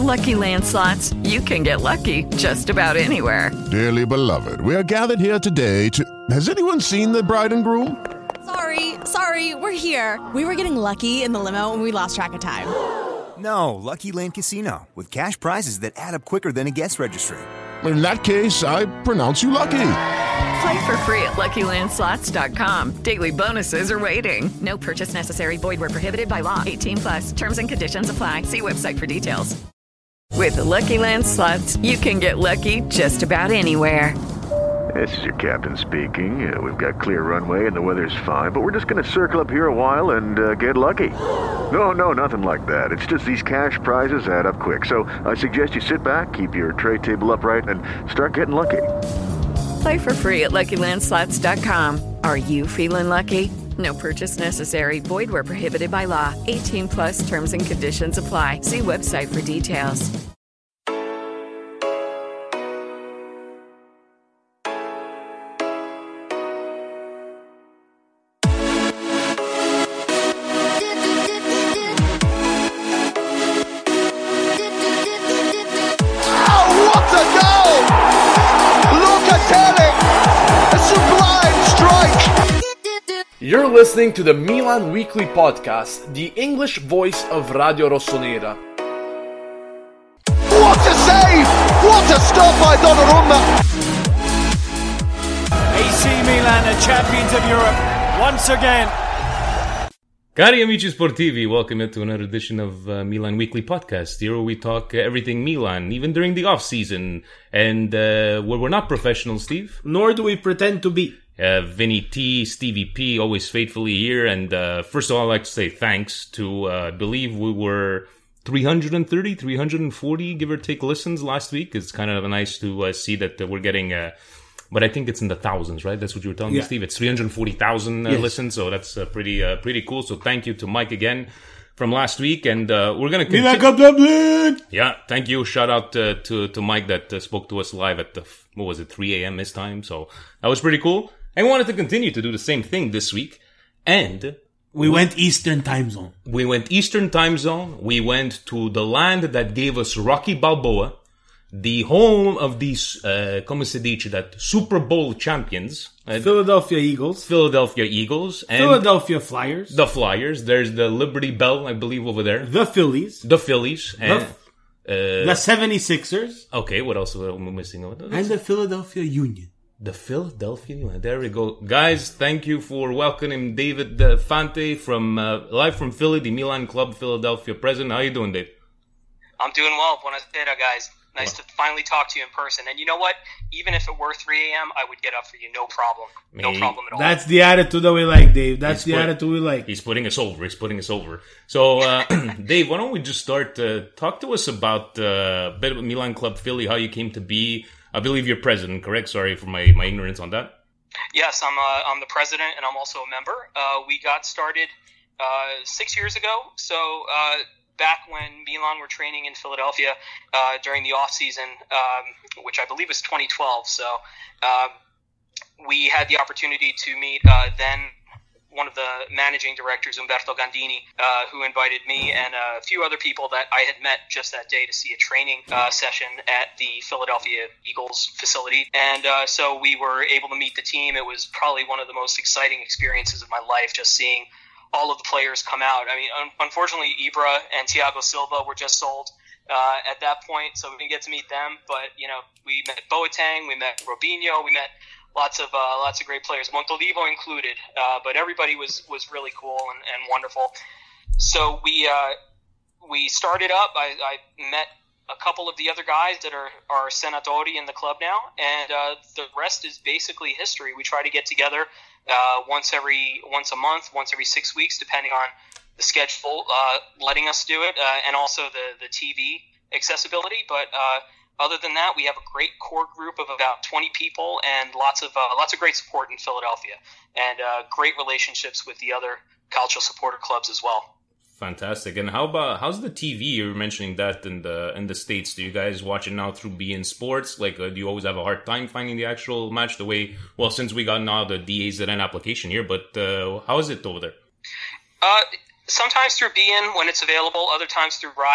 Lucky Land Slots, you can get lucky just about anywhere. Dearly beloved, we are gathered here today to... Has anyone seen the bride and groom? Sorry, we're here. We were getting lucky in the limo and we lost track of time. No, Lucky Land Casino, with cash prizes that add up quicker than a guest registry. In that case, I pronounce you lucky. Play for free at LuckyLandSlots.com. Daily bonuses are waiting. No purchase necessary. Void where prohibited by law. 18+. Terms and conditions apply. See website for details. With the Lucky Land Slots, you can get lucky just about anywhere. This is your captain speaking. We've got clear runway and the weather's fine, but we're just going to circle up here a while and get lucky. No, nothing like that. It's just these cash prizes add up quick. So I suggest you sit back, keep your tray table upright, and start getting lucky. Play for free at LuckyLandSlots.com. Are you feeling lucky? No purchase necessary. Void where prohibited by law. 18+ terms and conditions apply. See website for details. You're listening to the Milan Weekly Podcast, the English voice of Radio Rossonera. What a save! What a stop by Donnarumma! AC Milan are champions of Europe once again. Cari amici sportivi, welcome to another edition of Milan Weekly Podcast. Here we talk everything Milan, even during the off-season. And we're not professional, Steve. Nor do we pretend to be. Vinny T, Stevie P, always faithfully here. And first of all, I'd like to say thanks to, I believe we were 330, 340, give or take, listens last week. It's kind of nice to see that we're getting, but I think it's in the thousands, right? That's what you were telling me, Steve. It's 340,000 listens, so that's pretty cool. So thank you to Mike again from last week, and we're going to continue. Yeah, thank you. Shout out to Mike that spoke to us live at 3 a.m. his time. So that was pretty cool. And we wanted to continue to do the same thing this week. And we went Eastern time zone. We went Eastern time zone. We went to the land that gave us Rocky Balboa, the home of these, come si dice that, Super Bowl champions. Philadelphia Eagles. And Philadelphia Flyers. The Flyers. There's the Liberty Bell, I believe, over there. The Phillies. And the 76ers. Okay, what else am I missing? And the Philadelphia Union. The Philadelphia Union. There we go. Guys, thank you for welcoming David Fante from live from Philly, the Milan Club Philadelphia president. How you doing, Dave? I'm doing well. Buonasera, guys. Nice to finally talk to you in person. And you know what? Even if it were 3 a.m., I would get up for you. No problem. No problem at all. That's the attitude that we like, Dave. That's the attitude we like. He's putting us over. So, Dave, why don't we just start? Talk to us about a bit of Milan Club Philly, how you came to be. I believe you're president, correct? Sorry for my ignorance on that. Yes, I'm the president, and I'm also a member. We got started 6 years ago. So back when Milan were training in Philadelphia during the off season, which I believe was 2012. So we had the opportunity to meet then one of the managing directors, Umberto Gandini, who invited me and a few other people that I had met just that day to see a training session at the Philadelphia Eagles facility. And so we were able to meet the team. It was probably one of the most exciting experiences of my life, just seeing all of the players come out. I mean, unfortunately, Ibra and Thiago Silva were just sold at that point, so we didn't get to meet them. But, you know, we met Boateng, we met Robinho, we met lots of great players, Montolivo included, but everybody was really cool and wonderful. So we started up. I met a couple of the other guys that are senatori in the club now, and the rest is basically history. We try to get together once a month, once every 6 weeks, depending on the schedule letting us do it, and also the TV accessibility. But other than that, we have a great core group of about 20 people and lots of great support in Philadelphia, and great relationships with the other Calcio supporter clubs as well. Fantastic. And how's the TV? You were mentioning that in the States. Do you guys watch it now through beIN Sports? Like, do you always have a hard time finding the actual match the way? Well, since we got now the DAZN application here, but how is it over there? Sometimes through beIN when it's available. Other times through Rai.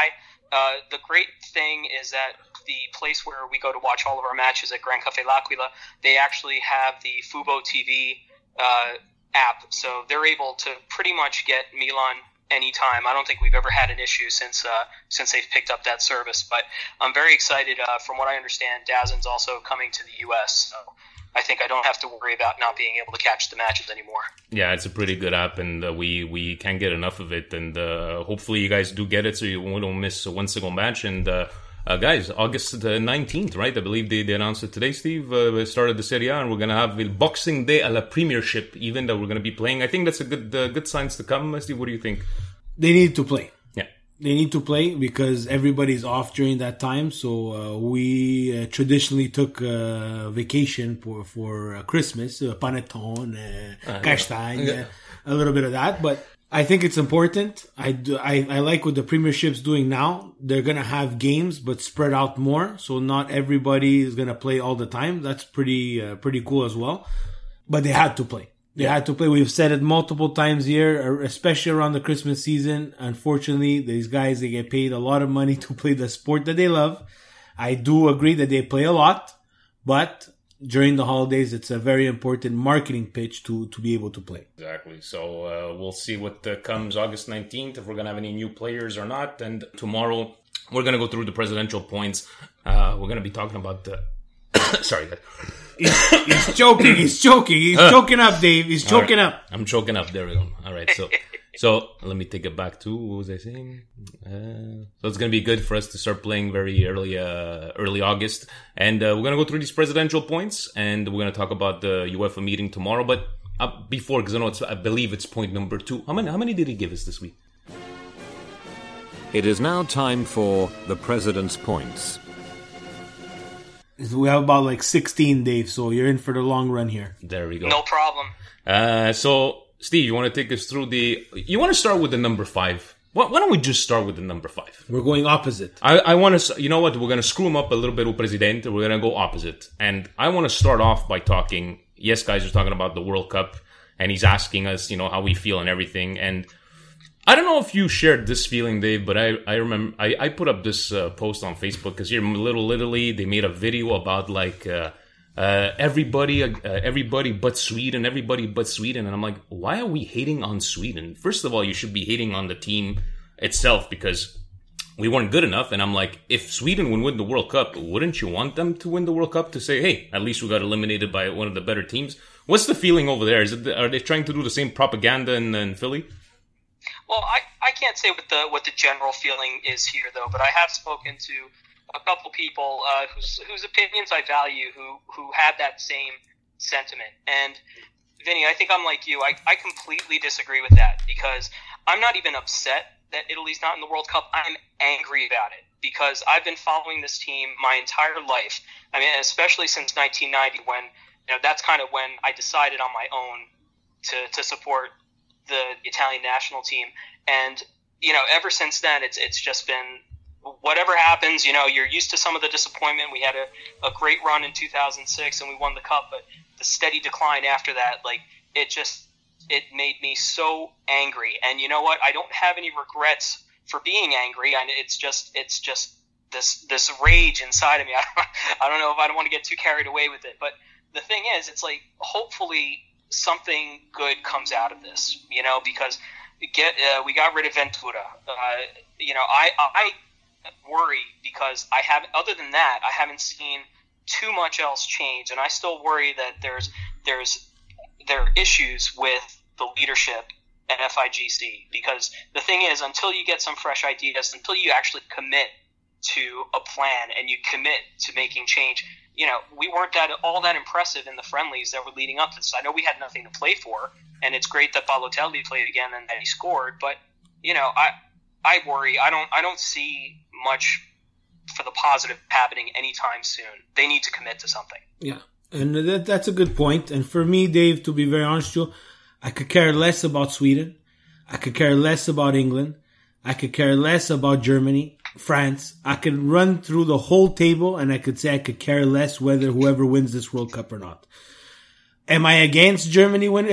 The great thing is that the place where we go to watch all of our matches at Grand Café L'Aquila, they actually have the Fubo TV app, so they're able to pretty much get Milan anytime. I don't think we've ever had an issue since they've picked up that service. But I'm very excited. From what I understand, DAZN's also coming to the U.S., so I think I don't have to worry about not being able to catch the matches anymore. Yeah, it's a pretty good app, and we can't get enough of it. And hopefully you guys do get it so you won't miss one single match. And guys, August 19th, right? I believe they announced it today, Steve. Started the Serie A, and we're going to have the Boxing Day à la Premiership even that we're going to be playing. I think that's a good signs to come. Steve, what do you think? They need to play. Yeah. They need to play because everybody's off during that time. So we traditionally took vacation for Christmas, panettone, castagne, a little bit of that. But I think it's important. I like what the Premiership's doing now. They're going to have games, but spread out more. So not everybody is going to play all the time. That's pretty cool as well. But they had to play. They had to play. We've said it multiple times here, especially around the Christmas season. Unfortunately, these guys, they get paid a lot of money to play the sport that they love. I do agree that they play a lot, but during the holidays, it's a very important marketing pitch to be able to play. Exactly. So we'll see what comes August 19th, if we're going to have any new players or not. And tomorrow, we're going to go through the presidential points. We're going to be talking about the... Sorry. He's choking. He's choking up, Dave. He's choking up. I'm choking up. There we go. All right. So let me take it back to what was I saying? So it's going to be good for us to start playing very early August. And we're going to go through these presidential points, and we're going to talk about the UEFA meeting tomorrow. But before, because I believe it's point number 2. How many did he give us this week? It is now time for the President's Points. We have about 16, Dave, so you're in for the long run here. There we go. No problem. So, Steve, you want to take us through you want to start with the number 5? Why don't we just start with the number 5? We're going opposite. I want to, you know what, we're going to screw him up a little bit with Presidente. We're going to go opposite. And I want to start off by talking, yes, guys, we're talking about the World Cup, and he's asking us, how we feel and everything. And I don't know if you shared this feeling, Dave, but I remember I put up this post on Facebook because here in Little Italy, they made a video about everybody but Sweden, and I'm like, why are we hating on Sweden? First of all, you should be hating on the team itself because we weren't good enough. And I'm like, if Sweden would win the World Cup, wouldn't you want them to win the World Cup to say, hey, at least we got eliminated by one of the better teams? What's the feeling over there? Are they trying to do the same propaganda in Philly? Well, I can't say what the general feeling is here, though, but I have spoken to a couple people whose opinions I value who had that same sentiment. And, Vinny, I think I'm like you. I completely disagree with that because I'm not even upset that Italy's not in the World Cup. I'm angry about it because I've been following this team my entire life. I mean, especially since 1990 when, that's kind of when I decided on my own to support the Italian national team. And, ever since then, it's just been whatever happens, you're used to some of the disappointment. We had a great run in 2006 and we won the cup, but the steady decline after that, it made me so angry. And you know what? I don't have any regrets for being angry. And it's just this rage inside of me. I don't know if I don't want to get too carried away with it, but the thing is, it's hopefully something good comes out of this, because we got rid of Ventura. I worry because I haven't. Other than that, I haven't seen too much else change, and I still worry that there are issues with the leadership at FIGC. Because the thing is, until you get some fresh ideas, until you actually commit to a plan and you commit to making change. We weren't all that impressive in the friendlies that were leading up to this. I know we had nothing to play for, and it's great that Balotelli played again and that he scored. But I worry. I don't see much for the positive happening anytime soon. They need to commit to something. Yeah, and that's a good point. And for me, Dave, to be very honest with you, I could care less about Sweden. I could care less about England. I could care less about Germany, France. I could run through the whole table and I could say I could care less whether whoever wins this World Cup or not. Am I against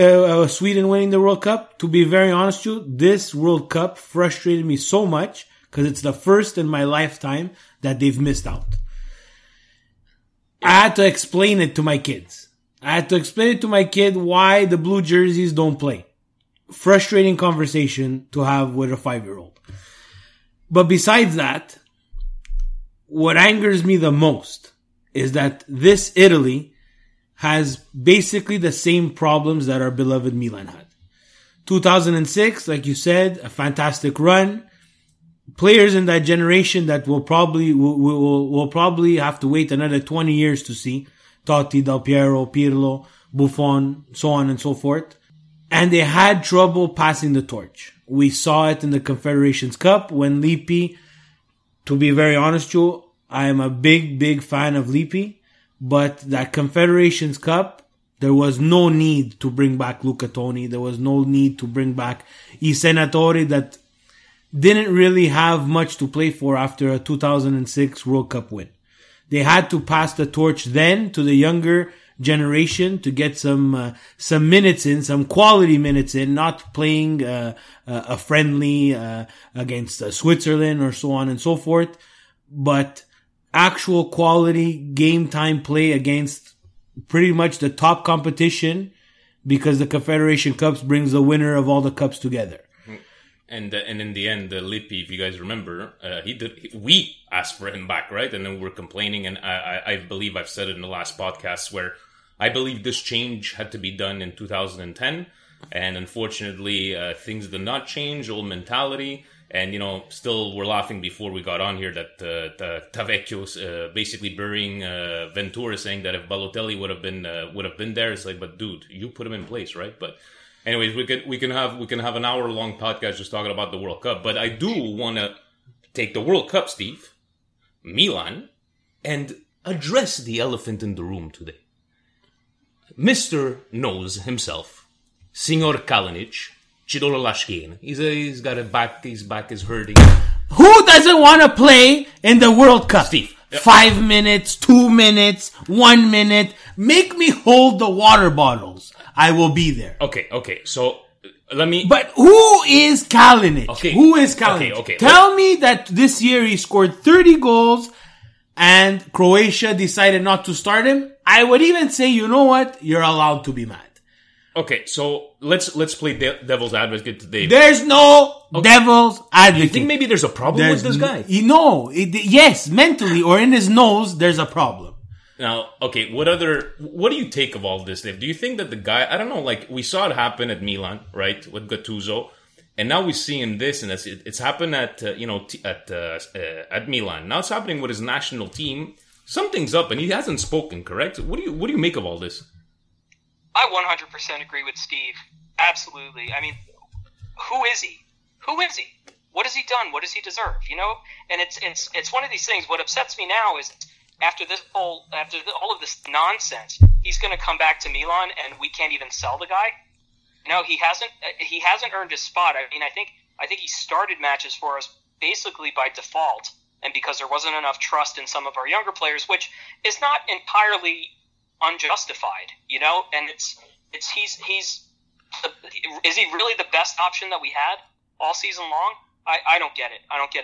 Sweden winning the World Cup? To be very honest with you, this World Cup frustrated me so much because it's the first in my lifetime that they've missed out. I had to explain it to my kids. I had to explain it to my kid why the blue jerseys don't play. Frustrating conversation to have with a 5-year-old. But besides that, what angers me the most is that this Italy has basically the same problems that our beloved Milan had. 2006, like you said, a fantastic run. Players in that generation that will probably have to wait another 20 years to see. Totti, Del Piero, Pirlo, Buffon, so on and so forth. And they had trouble passing the torch. We saw it in the Confederations Cup when Lippi, to be very honest, Joe, I am a big fan of Lippi. But that Confederations Cup, there was no need to bring back Luca Toni. There was no need to bring back I Senatori that didn't really have much to play for after a 2006 World Cup win. They had to pass the torch then to the younger generation to get some minutes in, some quality minutes in, not playing a friendly against Switzerland or so on and so forth, but actual quality game time play against pretty much the top competition, because the Confederation Cups brings the winner of all the cups together. And in the end, Lippi, if you guys remember, we asked for him back, right? And then we're complaining, and I believe I've said it in the last podcast where I believe this change had to be done in 2010, and unfortunately, things did not change, old mentality. And, you know, still we're laughing before we got on here that Tavecchio's basically burying Ventura, saying that if Balotelli would have been there, it's like, but dude, you put him in place, right? But anyways, we can have an hour-long podcast just talking about the World Cup. But I do want to take the World Cup, Steve, Milan, and address the elephant in the room today. Mr. Knows himself, Signor Kalinic, Chidolo Lashkin. He's got a back. His back is hurting. Who doesn't want to play in the World Cup? Steve. 5 minutes, 2 minutes, 1 minute. Make me hold the water bottles. I will be there. Okay. So let me. But who is Kalinic? Okay. Who is Kalinic? Okay. Tell me that this year he scored 30 goals and Croatia decided not to start him. I would even say, you know what? You're allowed to be mad. Okay, so let's play devil's advocate today. There's no devil's advocate. You think maybe there's a problem with this guy? Yes, mentally or in his nose, there's a problem. Now, okay, what do you take of all this, Dave? Do you think that the guy, I don't know, like we saw it happen at Milan, right, with Gattuso, and now we see him this, and it's happened at Milan. Now it's happening with his national team. Something's up, and he hasn't spoken, correct? What do you make of all this? I 100% agree with Steve. Absolutely. I mean, who is he? What has he done? What does he deserve? You know, and it's one of these things. What upsets me now is after all of this nonsense, he's going to come back to Milan, and we can't even sell the guy. No, he hasn't earned his spot. I mean, I think he started matches for us basically by default, and because there wasn't enough trust in some of our younger players, which is not entirely unjustified, you know, and is he really the best option that we had all season long? I don't get it.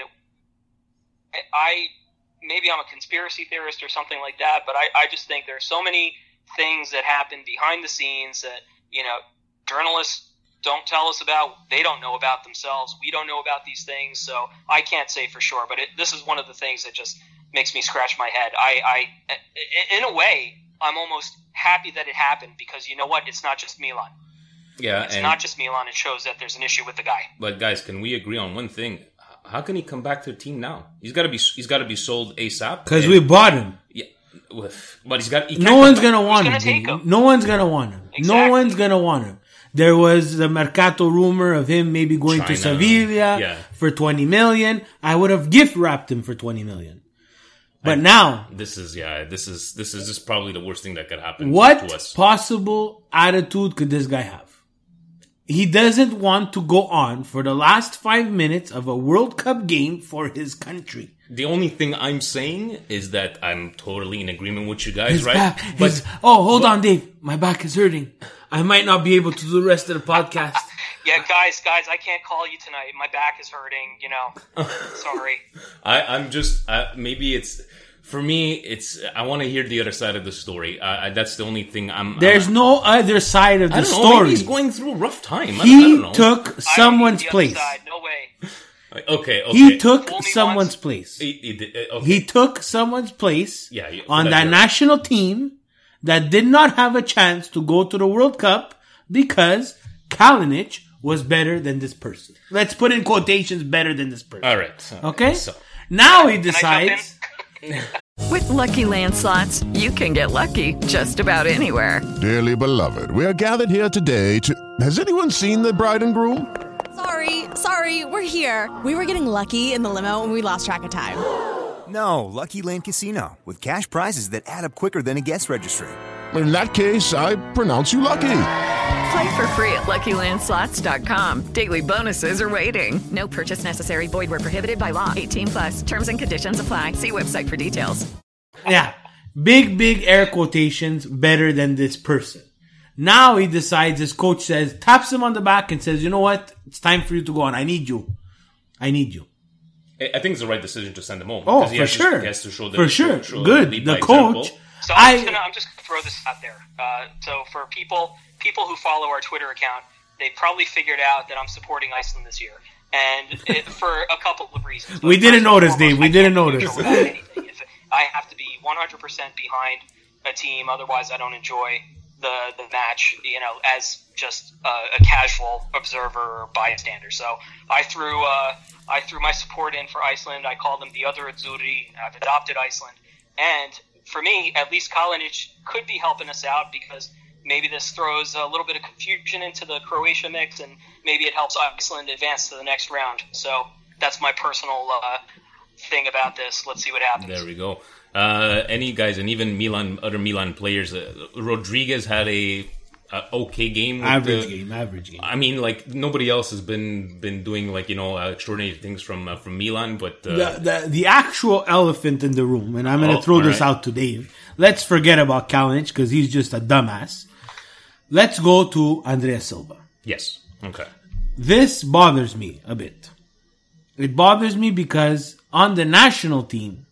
Maybe I'm a conspiracy theorist or something like that, but I just think there's so many things that happen behind the scenes that, you know, journalists don't tell us about. They don't know about themselves. We don't know about these things, so I can't say for sure, but this is one of the things that just makes me scratch my head. In a way, I'm almost happy that it happened because you know what? It's not just Milan. Yeah, it's not just Milan. It shows that there's an issue with the guy. But guys, can we agree on one thing? How can he come back to the team now? He's got to be sold ASAP. Because we bought him. Yeah, but no one's gonna want him. No one's gonna want him. Exactly. No one's gonna want him. There was the Mercato rumor of him maybe going to Sevilla for 20 million. I would have gift wrapped him for 20 million. But now this is probably the worst thing that could happen. What to us. Possible attitude could this guy have? He doesn't want to go on for the last 5 minutes of a World Cup game for his country. The only thing I'm saying is that I'm totally in agreement with you guys, his right? Hold on, Dave. My back is hurting. I might not be able to do the rest of the podcast. Yeah, guys, I can't call you tonight. My back is hurting, Sorry. I'm just, maybe it's, for me, it's, I want to hear the other side of the story. That's the only thing There's no other side of the story. Maybe he's going through a rough time. He took someone's place. No way. Okay. He took someone's place. He took someone's place on that national team that did not have a chance to go to the World Cup because Kalinic was better than this person. Let's put in quotations, better than this person. All right. Okay? So. Now he decides... With Lucky Land Slots, you can get lucky just about anywhere. Dearly beloved, we are gathered here today to... Has anyone seen the bride and groom? Sorry, we're here. We were getting lucky in the limo and we lost track of time. No, Lucky Land Casino, with cash prizes that add up quicker than a guest registry. In that case, I pronounce you lucky. Play for free at LuckyLandSlots.com. Daily bonuses are waiting. No purchase necessary. Void where prohibited by law. 18+. Terms and conditions apply. See website for details. Yeah. Big air quotations, better than this person. Now he decides, his coach says, taps him on the back and says, you know what? It's time for you to go on. I need you. I think it's the right decision to send him home. Oh, for sure. He has to show for sure. Good. The coach. So I'm just going to throw this out there. So for people who follow our Twitter account, they probably figured out that I'm supporting Iceland this year. And for a couple of reasons. We didn't notice, Dave. We didn't notice. I have to be 100% behind a team. Otherwise, I don't enjoy the match, as just a casual observer or bystander. So I threw my support in for Iceland. I call them the other Azzurri. I've adopted Iceland. And for me, at least Kalinic could be helping us out because maybe this throws a little bit of confusion into the Croatia mix and maybe it helps Iceland advance to the next round. So that's my personal thing about this. Let's see what happens. There we go. Any guys, and even other Milan players, Rodriguez had a okay game. Average game. I mean, nobody else has been doing extraordinary things from Milan, but the actual elephant in the room, and I'm going to throw this out to Dave. Let's forget about Kalinic because he's just a dumbass. Let's go to Andrea Silva. Yes. Okay. This bothers me a bit. It bothers me because on the national team,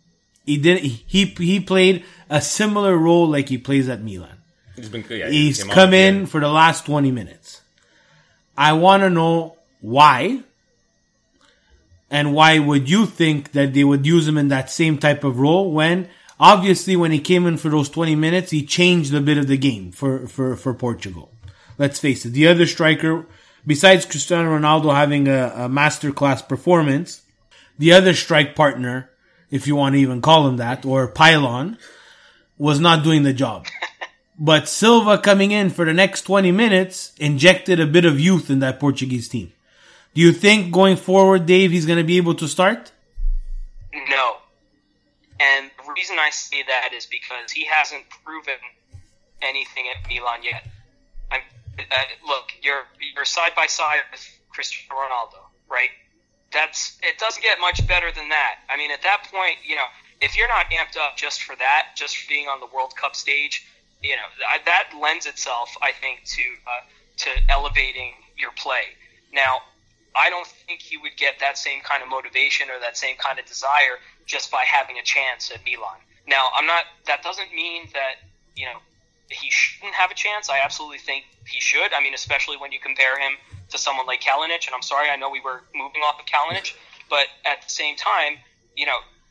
he played a similar role like he plays at Milan. He's come in for the last 20 minutes. I want to know why. And why would you think that they would use him in that same type of role when, obviously, when he came in for those 20 minutes, he changed a bit of the game for Portugal. Let's face it. The other striker, besides Cristiano Ronaldo having a masterclass performance, the other strike partner, if you want to even call him that, or pylon, was not doing the job. But Silva coming in for the next 20 minutes injected a bit of youth in that Portuguese team. Do you think going forward, Dave, he's going to be able to start? No. And the reason I say that is because he hasn't proven anything at Milan yet. Look, you're side by side with Cristiano Ronaldo, right? It doesn't get much better than that. I mean, at that point, if you're not amped up just for that, just for being on the World Cup stage, that lends itself, I think, to elevating your play. Now, I don't think he would get that same kind of motivation or that same kind of desire just by having a chance at Milan. Now, that doesn't mean that, he shouldn't have a chance. I absolutely think he should. I mean, especially when you compare him to someone like Kalinic. And I'm sorry, I know we were moving off of Kalinic, but at the same time, he,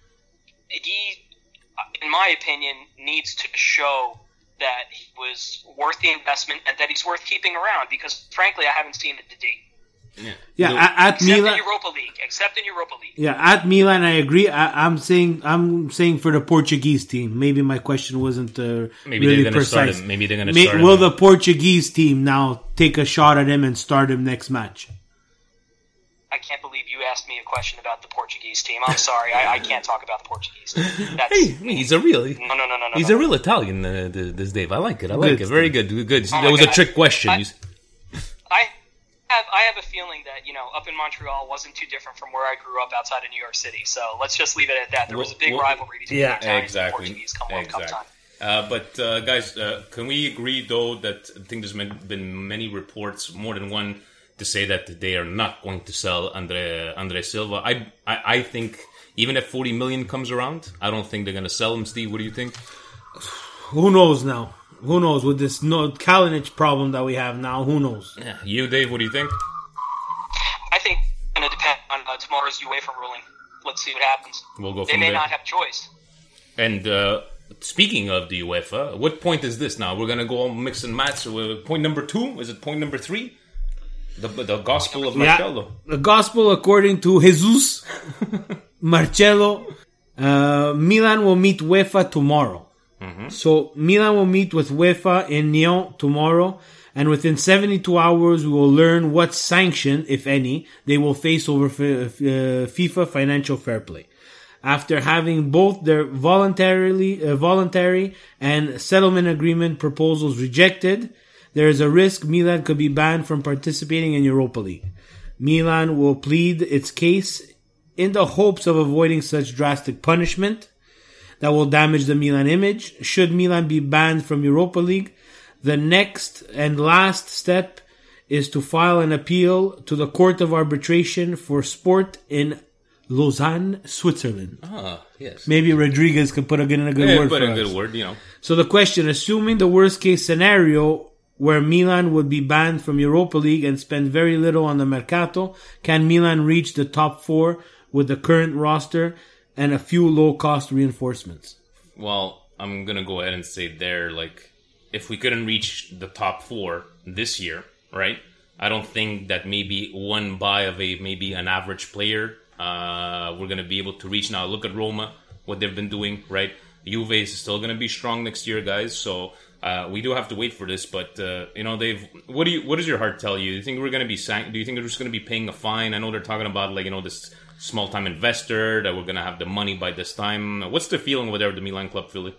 in my opinion, needs to show that he was worth the investment and that he's worth keeping around because, frankly, I haven't seen it to date. At Milan, except in Europa League. Yeah, at Milan, I agree. I'm saying for the Portuguese team. Maybe my question wasn't really precise. Maybe they're going to start him. Will the Portuguese team now take a shot at him and start him next match? I can't believe you asked me a question about the Portuguese team. I'm sorry, I can't talk about the Portuguese team. He's a real He's a real Italian. This Dave, I like it. Very good. That was a trick question. I have a feeling that, up in Montreal wasn't too different from where I grew up outside of New York City. So let's just leave it at that. There was a big rivalry between the Italians and the Portuguese come World Cup time. But guys, can we agree, though, that I think there's been many reports, more than one, to say that they are not going to sell Andre Silva. I think even if 40 million comes around, I don't think they're going to sell him. Steve, what do you think? Who knows now? Who knows with this Kalinic problem that we have now? Who knows? Yeah. You, Dave, what do you think? I think it's going to depend on tomorrow's UEFA ruling. Let's see what happens. We'll go from They may there. not have choice. And speaking of the UEFA, what point is this now? We're going to go all mix and match. Point number 2? Is it point number 3? The Gospel of Marcello. The Gospel according to Jesus Marcello. Milan will meet UEFA tomorrow. Mm-hmm. So Milan will meet with UEFA in Nyon tomorrow, and within 72 hours we will learn what sanction, if any, they will face over FIFA financial fair play. After having both their voluntary and settlement agreement proposals rejected, there is a risk Milan could be banned from participating in Europa League. Milan will plead its case in the hopes of avoiding such drastic punishment that will damage the Milan image. Should Milan be banned from Europa League, the next and last step is to file an appeal to the Court of Arbitration for Sport in Lausanne, Switzerland. Ah, yes. Maybe Rodriguez could put in a good word for us. Good word, you know. So the question, assuming the worst case scenario where Milan would be banned from Europa League and spend very little on the Mercato, can Milan reach the top 4 with the current roster and a few low-cost reinforcements? Well, I'm going to go ahead and say there, like, if we couldn't reach the top 4 this year, right? I don't think that maybe one buy of maybe an average player, we're going to be able to reach. Now, look at Roma, what they've been doing, right? Juve is still going to be strong next year, guys, so we do have to wait for this, but, you know, what does your heart tell you? Do you think we're going to be, do you think they're just going to be paying a fine? I know they're talking about, like, you know, this small-time investor, that we're going to have the money by this time. What's the feeling over there with the Milan club, Philly?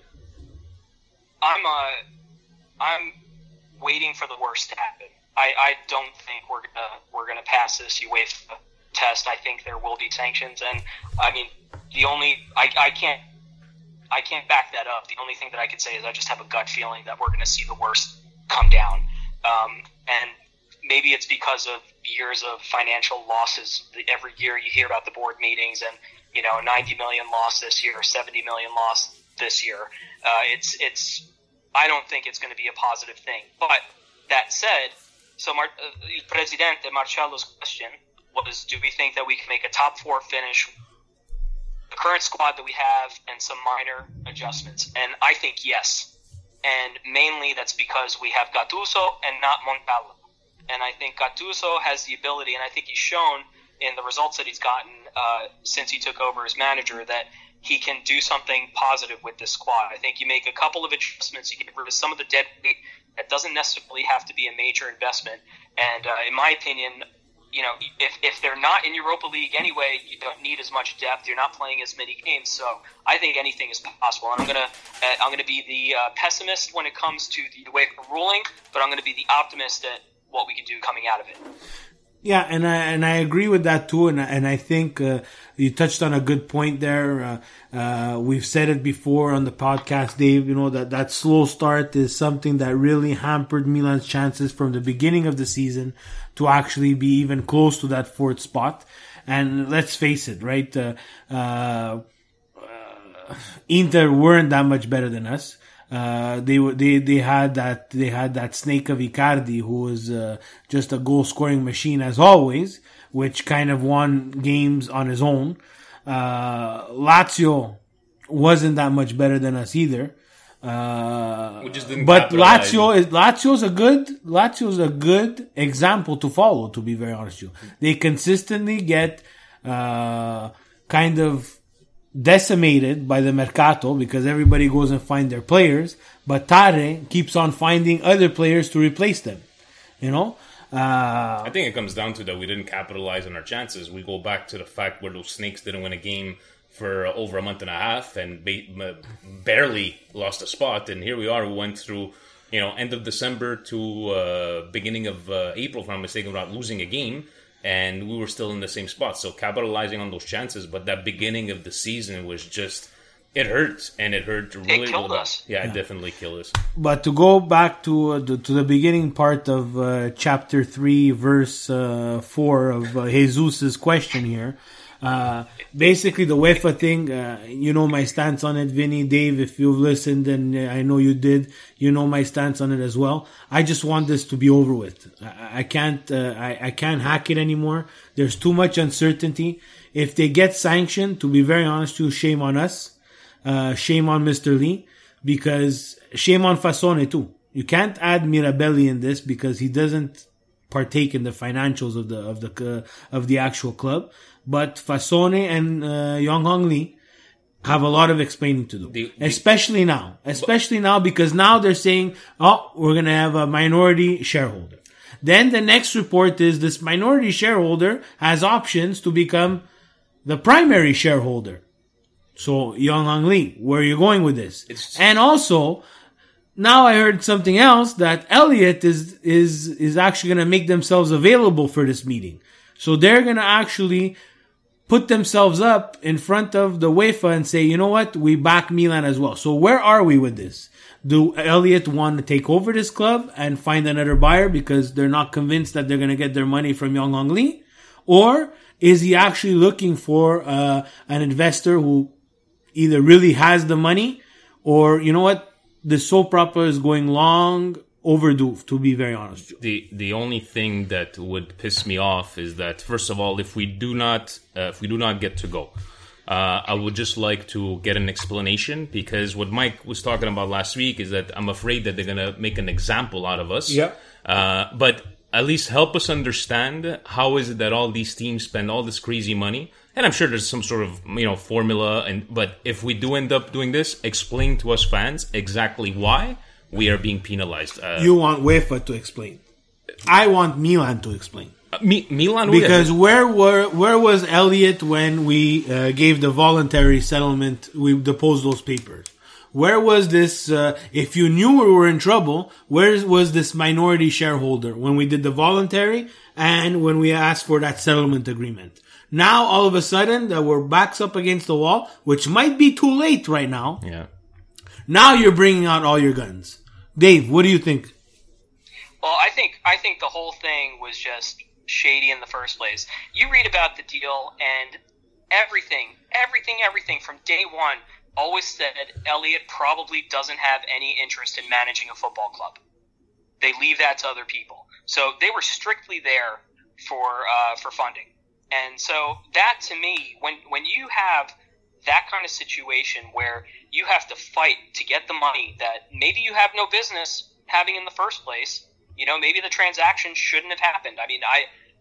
I'm waiting for the worst to happen. I don't think we're gonna pass this UEFA test. I think there will be sanctions, and I mean I can't back that up. The only thing that I could say is I just have a gut feeling that we're gonna see the worst come down, and maybe it's because of years of financial losses. Every year you hear about the board meetings and, you know, 90 million loss this year, 70 million loss this year. I don't think it's going to be a positive thing. But that said, so Presidente Marcello's question was, do we think that we can make a top 4 finish, the current squad that we have, and some minor adjustments? And I think yes. And mainly that's because we have Gattuso and not Montella. And I think Gattuso has the ability, and I think he's shown in the results that he's gotten since he took over as manager, that he can do something positive with this squad. I think you make a couple of adjustments, you get rid of some of the dead weight. That doesn't necessarily have to be a major investment. And in my opinion, you know, if they're not in Europa League anyway, you don't need as much depth. You're not playing as many games, so I think anything is possible. And I'm gonna be the pessimist when it comes to the UEFA ruling, but I'm gonna be the optimist at what we can do coming out of it. Yeah, and I agree with that too, and I think you touched on a good point there. We've said it before on the podcast, Dave. You know that slow start is something that really hampered Milan's chances from the beginning of the season to actually be even close to that 4th spot. And let's face it, right? Inter weren't that much better than us. They had that snake of Icardi, who was just a goal scoring machine as always, which kind of won games on his own. Lazio wasn't that much better than us either. But Lazio's a good example to follow, to be very honest with you. They consistently get kind of decimated by the Mercato because everybody goes and finds their players, but Tare keeps on finding other players to replace them. You know? I think it comes down to that we didn't capitalize on our chances. We go back to the fact where those Snakes didn't win a game for over a month and a half and barely lost a spot, and here we are. We went through, you know, end of December to beginning of April, if I'm mistaken, without losing a game. And we were still in the same spot. So capitalizing on those chances, but that beginning of the season was just, It hurts, and it hurt really. It killed us. Yeah, it definitely killed us. But to go back to the beginning part of chapter 3, verse 4 of Jesus's question here, basically the UEFA thing, you know my stance on it, Vinny, Dave, if you've listened, and I know you did, you know my stance on it as well. I just want this to be over with. I can't hack it anymore. There's too much uncertainty. If they get sanctioned, to be very honest with you, shame on us. Shame on Mr. Lee, because shame on Fasone too. You can't add Mirabelli in this because he doesn't partake in the financials of the actual club. But Fasone and Yong Hong Lee have a lot of explaining to do, especially now because now they're saying, "Oh, we're gonna have a minority shareholder." Then the next report is this minority shareholder has options to become the primary shareholder. So, Yong Hong Lee, where are you going with this? And also, now I heard something else, that Elliott is actually going to make themselves available for this meeting. So they're going to actually put themselves up in front of the UEFA and say, you know what, we back Milan as well. So where are we with this? Do Elliott want to take over this club and find another buyer because they're not convinced that they're going to get their money from Yong Hong Lee? Or is he actually looking for an investor who either really has the money, or, you know what, the soap opera is going long overdue, to be very honest. The only thing that would piss me off is that, first of all, if we do not get to go, I would just like to get an explanation, because what Mike was talking about last week is that I'm afraid that they're going to make an example out of us. Yeah. But at least help us understand how is it that all these teams spend all this crazy money. And I'm sure there's some sort of, formula. But if we do end up doing this, explain to us fans exactly why we are being penalized. You want UEFA to explain. I want Milan to explain. Milan, because where was Elliott when we gave the voluntary settlement? We deposed those papers. Where was this? If you knew we were in trouble, where was this minority shareholder when we did the voluntary and when we asked for that settlement agreement? Now, all of a sudden, that we're backs up against the wall, which might be too late right now. Yeah. Now you're bringing out all your guns. Dave, what do you think? Well, I think the whole thing was just shady in the first place. You read about the deal, and everything from day one always said Elliott probably doesn't have any interest in managing a football club. They leave that to other people. So they were strictly there for funding. And so that, to me, when you have that kind of situation where you have to fight to get the money that maybe you have no business having in the first place, maybe the transaction shouldn't have happened. I mean,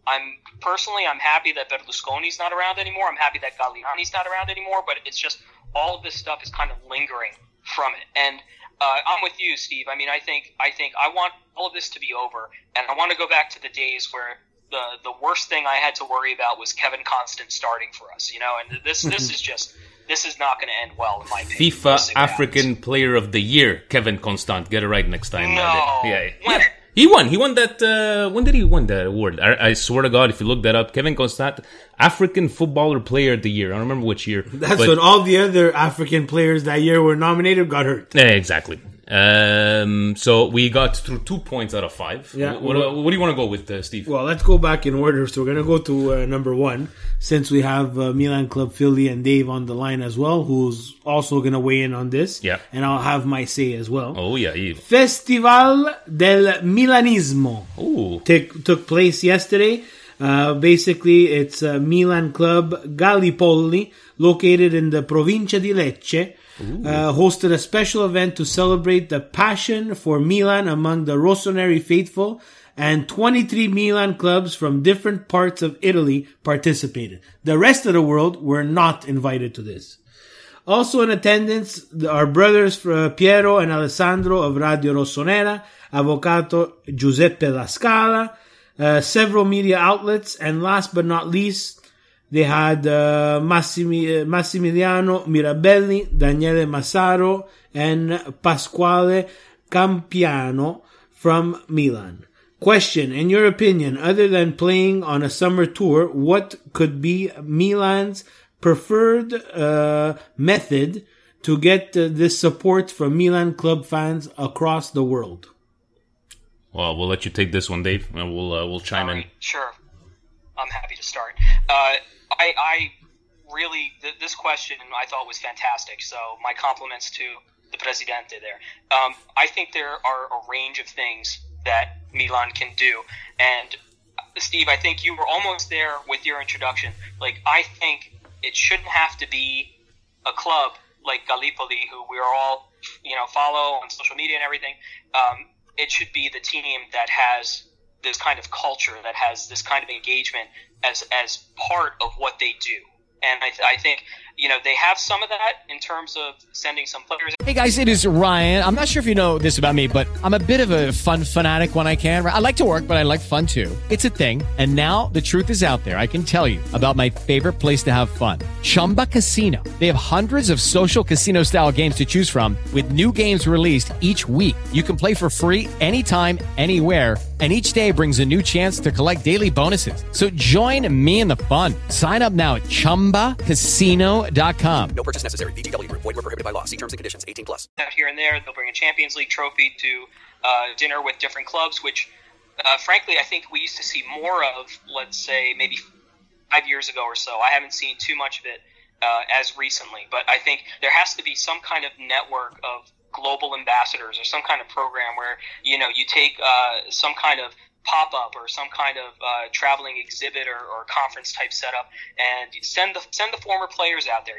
I'm happy that Berlusconi's not around anymore. I'm happy that Galliani's not around anymore, but it's just all of this stuff is kind of lingering from it. And I'm with you, Steve. I mean, I think I want all of this to be over, and I want to go back to the days where the worst thing I had to worry about was Kevin Constant starting for us, and this is not going to end well, in my opinion. FIFA African Player of the Year, Kevin Constant. Get it right next time. No. Yeah. He won that, when did he win that award? I swear to God, if you look that up, Kevin Constant, African Footballer Player of the Year. I don't remember which year. That's when all the other African players that year were nominated got hurt. Yeah, exactly. So we got through 2 points out of 5. Yeah. What do you want to go with, Steve? Well, let's go back in order. So we're going to go to number 1, since we have Milan Club Philly and Dave on the line as well, who's also going to weigh in on this. Yeah. And I'll have my say as well. Oh, yeah. Festival del Milanismo. Ooh. Took place yesterday. Basically, it's Milan Club Gallipoli, located in the Provincia di Lecce. Hosted a special event to celebrate the passion for Milan among the Rossoneri faithful, and 23 Milan clubs from different parts of Italy participated. The rest of the world were not invited to this. Also in attendance, our brothers Piero and Alessandro of Radio Rossonera, Avvocato Giuseppe La Scala, several media outlets, and last but not least, they had Massimiliano Mirabelli, Daniele Massaro, and Pasquale Campiano from Milan. Question, in your opinion, other than playing on a summer tour, what could be Milan's preferred method to get this support from Milan club fans across the world? Well, we'll let you take this one, Dave, and we'll chime in. Sure. I'm happy to start. I really, this question I thought was fantastic, so my compliments to the Presidente there. I think there are a range of things that Milan can do, and Steve, I think you were almost there with your introduction. Like, I think it shouldn't have to be a club like Gallipoli, who we are all, follow on social media and everything. It should be the team that has this kind of culture, that has this kind of engagement as part of what they do. And I think, they have some of that in terms of sending some players. Hey guys, it is Ryan. I'm not sure if you know this about me, but I'm a bit of a fun fanatic when I can. I like to work, but I like fun too. It's a thing. And now the truth is out there. I can tell you about my favorite place to have fun. Chumba Casino. They have hundreds of social casino style games to choose from with new games released each week. You can play for free anytime, anywhere. And each day brings a new chance to collect daily bonuses. So join me in the fun. Sign up now at ChumbaCasino.com. No purchase necessary. VGW Group. Void where prohibited by law. See terms and conditions. 18+. Out here and there, they'll bring a Champions League trophy to dinner with different clubs, which, frankly, I think we used to see more of, let's say, maybe 5 years ago or so. I haven't seen too much of it as recently. But I think there has to be some kind of network of global ambassadors or some kind of program where, you take some kind of pop-up or some kind of traveling exhibit or conference type setup and send the former players out there.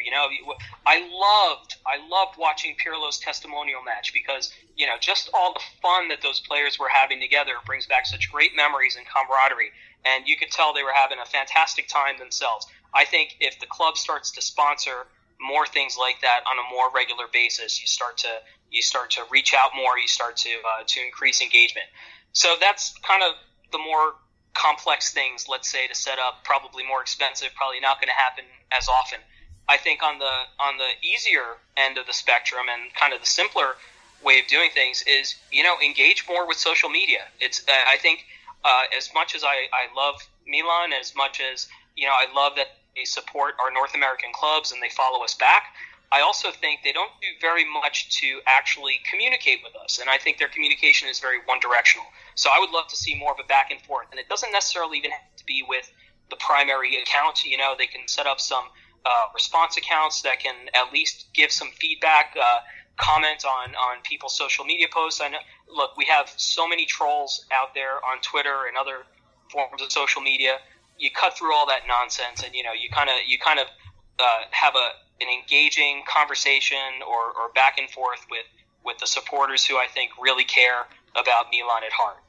I loved watching Pirlo's testimonial match because, just all the fun that those players were having together brings back such great memories and camaraderie. And you could tell they were having a fantastic time themselves. I think if the club starts to sponsor more things like that on a more regular basis, you start to reach out more, you start to increase engagement. So that's kind of the more complex things, let's say, to set up, probably more expensive, probably not going to happen as often. I think on the easier end of the spectrum and kind of the simpler way of doing things is, engage more with social media. It's I think as much as I love Milan, as much as, I love that they support our North American clubs and they follow us back, I also think they don't do very much to actually communicate with us, and I think their communication is very one-directional. So I would love to see more of a back and forth, and it doesn't necessarily even have to be with the primary account. They can set up some response accounts that can at least give some feedback, comment on people's social media posts. I know, look, we have so many trolls out there on Twitter and other forms of social media. You cut through all that nonsense, and you kind of have an engaging conversation or back and forth with the supporters who I think really care about Milan at heart.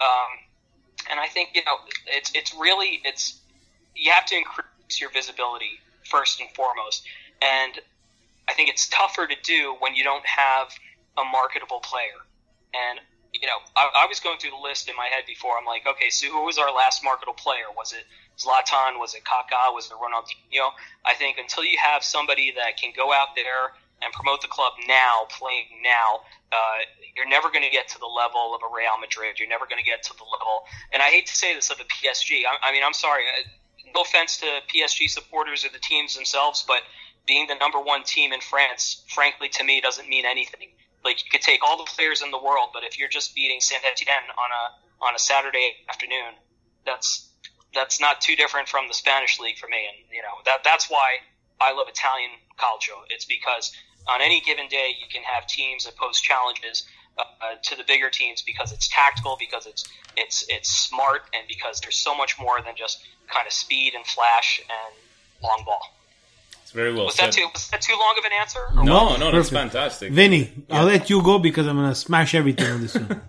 And I think, it's you have to increase your visibility first and foremost. And I think it's tougher to do when you don't have a marketable player. And, I was going through the list in my head before. I'm like, okay, so who was our last marketable player? Was it Zlatan? Was it Kaká? Was it Ronaldinho? I think until you have somebody that can go out there and promote the club now, playing now, you're never going to get to the level of a Real Madrid. You're never going to get to the level, and I hate to say this, of a PSG. I'm sorry. No offense to PSG supporters or the teams themselves, but being the number one team in France, frankly, to me, doesn't mean anything. Like, you could take all the players in the world, but if you're just beating Saint-Etienne on a Saturday afternoon, that's not too different from the Spanish league for me. And, that's why I love Italian calcio. It's because on any given day, you can have teams that pose challenges to the bigger teams because it's tactical, because it's smart, and because there's so much more than just kind of speed and flash and long ball. It's very well said. Was that too long of an answer? No, that's fantastic. Vinny, yeah. I'll let you go because I'm going to smash everything on this one.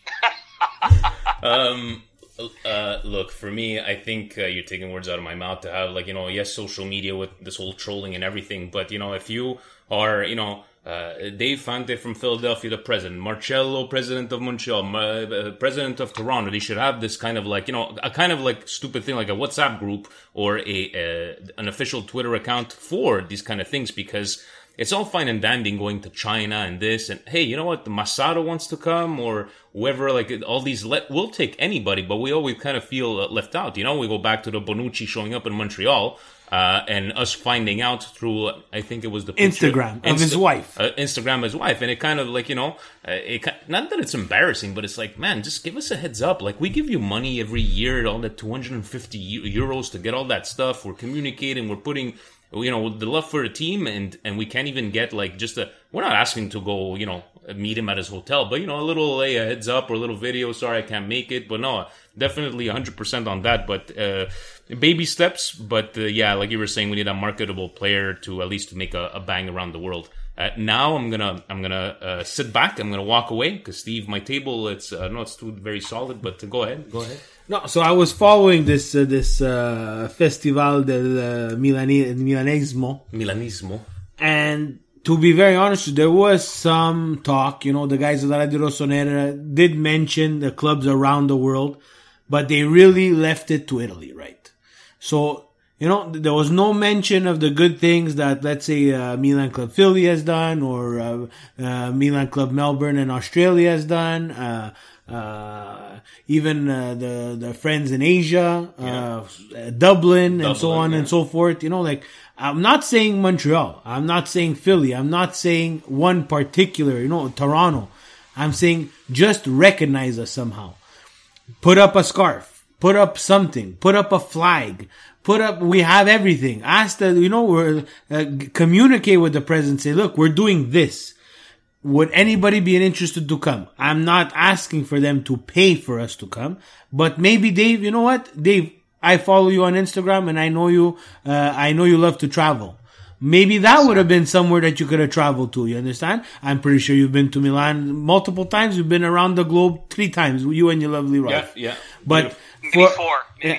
Look, for me, I think you're taking words out of my mouth to have, yes, social media with this whole trolling and everything, but, if you are, Dave Fante from Philadelphia, the president, Marcello, president of Montreal, president of Toronto, they should have this kind of a kind of stupid thing, like a WhatsApp group or an official Twitter account for these kind of things, because it's all fine and dandy going to China and this, and hey, you know what, the Masato wants to come, or whoever, all these, we'll take anybody, but we always kind of feel left out. We go back to the Bonucci showing up in Montreal. and us finding out through, I think it was the picture, Instagram of his wife. Instagram of his wife. And it kind of like, not that it's embarrassing, but it's like, man, just give us a heads up. Like, we give you money every year, all that 250 euros to get all that stuff. We're communicating, we're putting, the love for the team, and we can't even get like we're not asking to go, meet him at his hotel, but a little a heads up or a little video. Sorry, I can't make it, but no, definitely 100% on that. But baby steps. But like you were saying, we need a marketable player to at least make a bang around the world. Now I'm gonna sit back. I'm gonna walk away because Steve, my table, it's too very solid. But go ahead. No, so I was following this Festival del Milanismo, and to be very honest, there was some talk. The guys at Radio Rossonera did mention the clubs around the world, but they really left it to Italy, right? So, there was no mention of the good things that, let's say, Milan Club Philly has done, or Milan Club Melbourne in Australia has done, even the friends in Asia, Dublin, and so on and so forth. I'm not saying Montreal, I'm not saying Philly, I'm not saying one particular, Toronto. I'm saying just recognize us somehow. Put up a scarf, put up something, put up a flag, we have everything. Ask we're, communicate with the president, say, look, we're doing this. Would anybody be interested to come? I'm not asking for them to pay for us to come, but maybe Dave, Dave, I follow you on Instagram and I know you love to travel. Maybe that would have been somewhere that you could have traveled to, you understand? I'm pretty sure you've been to Milan multiple times. You've been around the globe 3 times, you and your lovely wife. Yeah. But maybe four.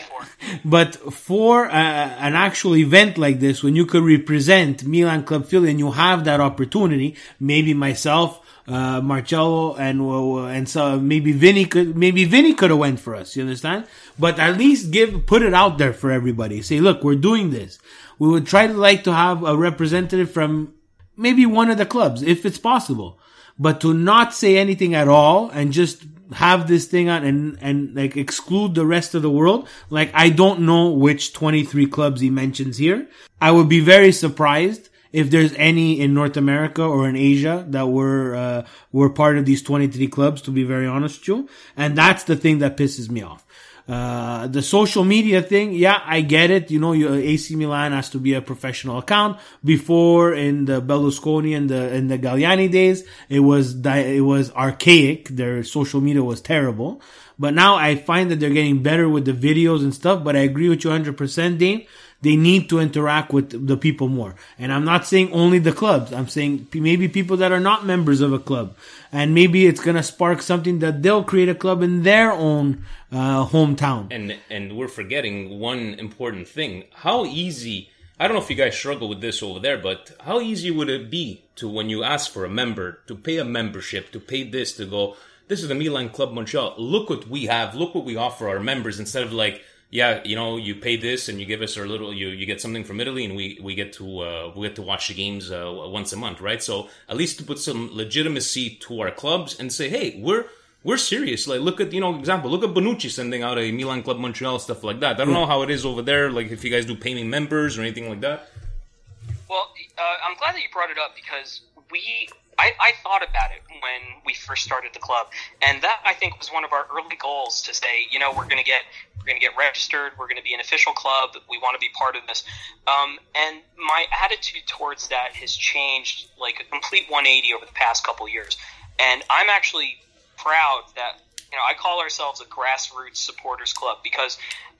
But for an actual event like this, when you could represent Milan Club Philly and you have that opportunity, maybe myself, Marcello, and so maybe Vinny could have went for us, you understand? But at least put it out there for everybody. Say, look, we're doing this. We would try to have a representative from maybe one of the clubs, if it's possible. But to not say anything at all and just have this thing on and like exclude the rest of the world. Like, I don't know which 23 clubs he mentions here. I would be very surprised if there's any in North America or in Asia that were part of these 23 clubs, to be very honest with you. And that's the thing that pisses me off. The social media thing, yeah, I get it. Your AC Milan has to be a professional account. Before, in the Berlusconi and the Galliani days, it was archaic. Their social media was terrible. But now I find that they're getting better with the videos and stuff. But I agree with you 100%, Dane. They need to interact with the people more. And I'm not saying only the clubs. I'm saying maybe people that are not members of a club. And maybe it's going to spark something that they'll create a club in their own hometown. And we're forgetting one important thing. How easy, I don't know if you guys struggle with this over there, but how easy would it be to, when you ask for a member, to pay a membership, to pay this, to go, this is the Milan Club Montreal. Look what we have. Look what we offer our members, instead of like, yeah, you pay this and you give us our little, you get something from Italy, and we get to watch the games once a month, right? So at least to put some legitimacy to our clubs and say, hey, we're serious. Like, look at, example, look at Bonucci sending out a Milan Club Montreal, stuff like that. I don't know how it is over there, like if you guys do paying members or anything like that. Well, I'm glad that you brought it up, because I thought about it when we first started the club, and that, I think, was one of our early goals, to say, we're going to get registered, we're going to be an official club, we want to be part of this. And my attitude towards that has changed like a complete 180 over the past couple years. And I'm actually proud that, I call ourselves a grassroots supporters club, because,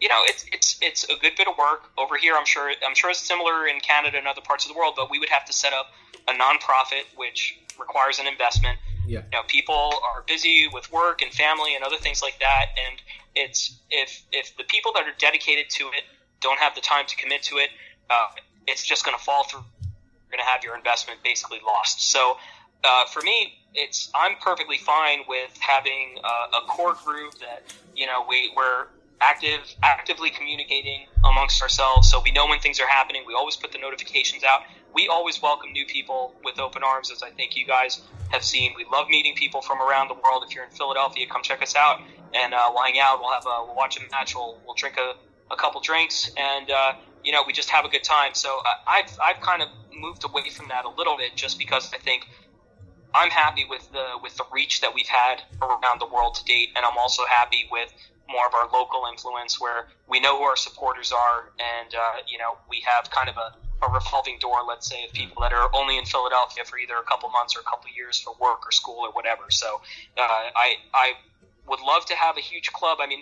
it's a good bit of work over here. I'm sure it's similar in Canada and other parts of the world, but we would have to set up a nonprofit, which requires an investment. Yeah. People are busy with work and family and other things like that, and it's if the people that are dedicated to it don't have the time to commit to it, it's just going to fall through. You're going to have your investment basically lost. So for me, I'm perfectly fine with having a core group that we're actively communicating amongst ourselves, so we know when things are happening. We always put the notifications out. We always welcome new people with open arms, as I think you guys have seen. We love meeting people from around the world. If you're in Philadelphia, come check us out, and we'll hang out. We'll watch a match. We'll drink a couple drinks, and we just have a good time. So I've kind of moved away from that a little bit, just because I think I'm happy with the reach that we've had around the world to date, and I'm also happy with more of our local influence, where we know who our supporters are, and we have kind of a revolving door, let's say, of people that are only in Philadelphia for either a couple months or a couple years for work or school or whatever. So I would love to have a huge club. I mean,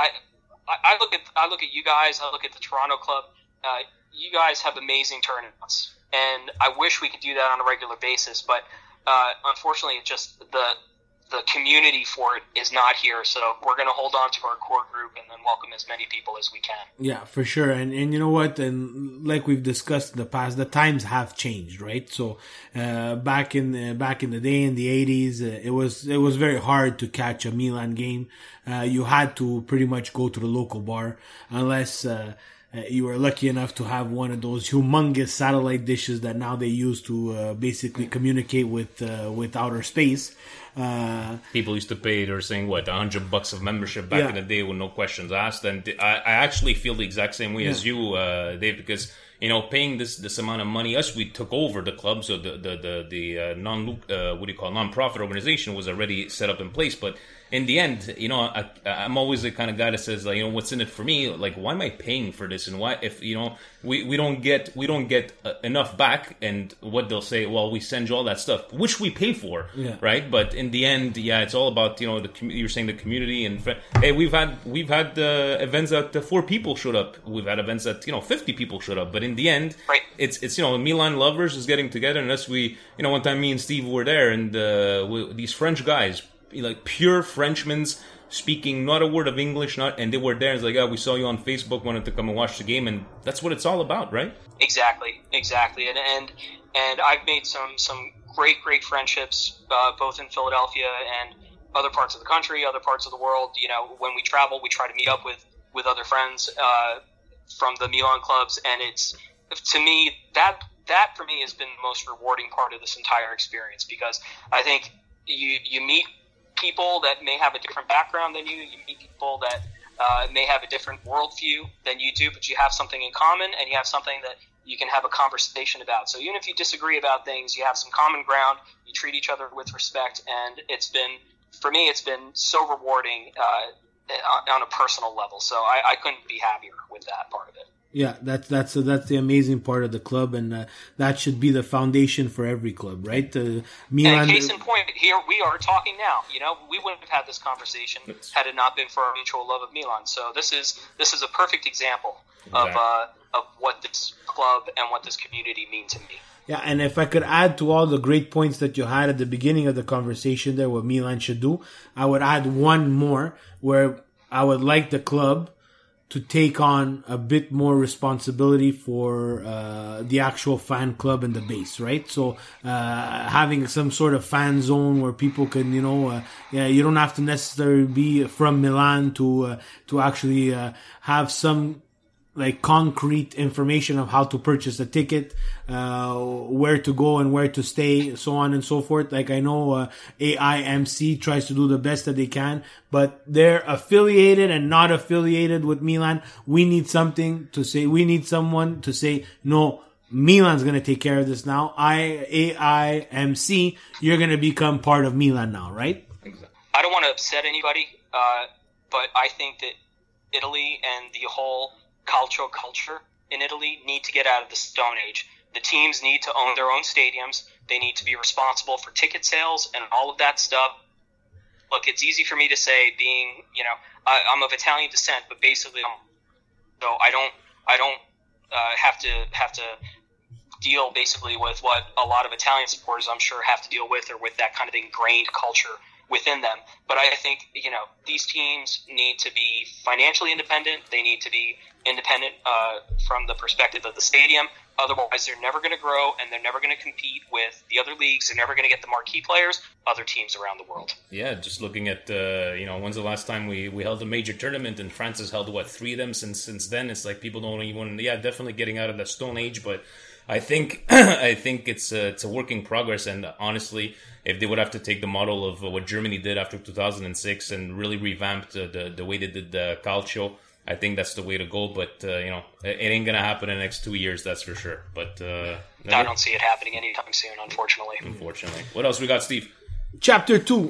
I look at you guys. I look at the Toronto club. You guys have amazing turnouts, and I wish we could do that on a regular basis. But unfortunately, just the community for it is not here. So we're going to hold on to our core group and then welcome as many people as we can. Yeah, for sure. And you know what? And like we've discussed in the past, the times have changed, right? So back in the day, in the 80s, it was very hard to catch a Milan game. You had to pretty much go to the local bar, unless you were lucky enough to have one of those humongous satellite dishes that now they use to basically communicate with outer space. People used to pay, they're saying, what, $100 of membership back in the day with no questions asked. And I actually feel the exact same way as you, Dave, because, paying this amount of money, we took over the club, so the non-profit organization was already set up in place. But in the end, I'm always the kind of guy that says, like, what's in it for me? Like, why am I paying for this? And why, if we don't get enough back? And what they'll say, well, we send you all that stuff, which we pay for, right? But in the end, it's all about you're saying the community. And hey, we've had events that 4 people showed up. We've had events that 50 people showed up. But in the end, it's Milan lovers is getting together. Unless one time me and Steve were there, and these French guys, like pure Frenchmen, speaking not a word of English, and they were there. It's like, we saw you on Facebook, wanted to come and watch the game, and that's what it's all about, right? Exactly, and I've made some great friendships, both in Philadelphia and other parts of the country, other parts of the world. When we travel, we try to meet up with other friends from the Milan clubs, and it's, to me, that for me has been the most rewarding part of this entire experience, because I think you meet people that may have a different background than you meet people that may have a different worldview than you do, but you have something in common, and you have something that you can have a conversation about. So even if you disagree about things, you have some common ground, you treat each other with respect, and it's been so rewarding on a personal level. So I couldn't be happier with that part of it. Yeah, that's the amazing part of the club, and that should be the foundation for every club, right? Milan. And case in point, here we are talking now. We wouldn't have had this conversation had it not been for our mutual love of Milan. So this is a perfect example of what this club and what this community mean to me. Yeah, and if I could add to all the great points that you had at the beginning of the conversation there, what Milan should do, I would add one more, where I would like the club to take on a bit more responsibility for the actual fan club and the base, right? So having some sort of fan zone where people can, you don't have to necessarily be from Milan to actually have some like concrete information of how to purchase a ticket, where to go and where to stay, so on and so forth. Like I know AIMC tries to do the best that they can, but they're affiliated and not affiliated with Milan. We need something to say. We need someone to say, no, Milan's going to take care of this now. AIMC, you're going to become part of Milan now, right? I don't want to upset anybody, but I think that Italy and the whole calcio culture in Italy need to get out of the Stone Age. The teams need to own their own stadiums. They need to be responsible for ticket sales and all of that stuff. Look, it's easy for me to say, being, I'm of Italian descent, but basically, I don't have to deal basically with what a lot of Italian supporters, I'm sure, have to deal with, or with that kind of ingrained culture within them. But I think, these teams need to be financially independent. They need to be independent from the perspective of the stadium. Otherwise, they're never going to grow, and they're never going to compete with the other leagues. They're never going to get the marquee players, other teams around the world. Yeah, just looking at, when's the last time we held a major tournament, and France has held, 3 of them since then. It's like people don't even, definitely getting out of the Stone Age, but I think it's a work in progress, and honestly, if they would have to take the model of what Germany did after 2006 and really revamp the way they did the calcio, I think that's the way to go. But it ain't gonna happen in the next 2 years, that's for sure. But I don't see it happening anytime soon, unfortunately. What else we got, Steve? Chapter 2.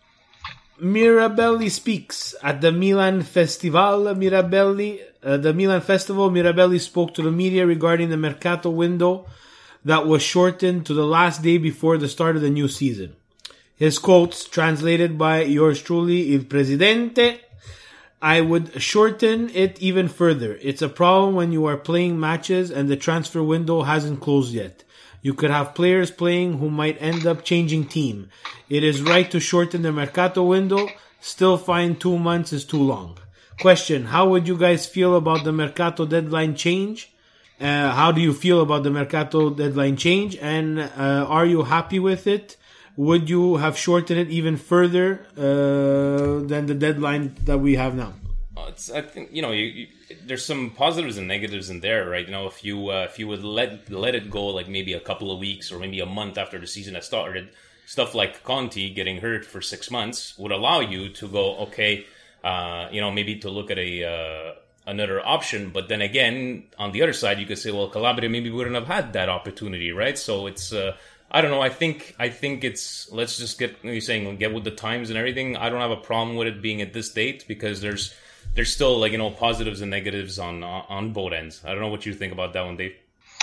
Mirabelli speaks at the Milan Festival. The Milan Festival, Mirabelli spoke to the media regarding the Mercato window that was shortened to the last day before the start of the new season. His quotes, translated by yours truly, Il Presidente: I would shorten it even further. It's a problem when you are playing matches and the transfer window hasn't closed yet. You could have players playing who might end up changing team. It is right to shorten the Mercato window. Still find 2 months is too long. Question: how would you guys feel about the Mercato deadline change? How do you feel about the Mercato deadline change? And are you happy with it? Would you have shortened it even further than the deadline that we have now? I think there's some positives and negatives in there, right? If you would let it go like maybe a couple of weeks or maybe a month after the season has started, stuff like Conti getting hurt for 6 months would allow you to go, okay, maybe to look at another option. But then again, on the other side, you could say, well, Calabria maybe wouldn't have had that opportunity, right? So it's I don't know. I think it's, let's just get with the times and everything. I don't have a problem with it being at this date because there's still positives and negatives on both ends. I don't know what you think about that one, Dave.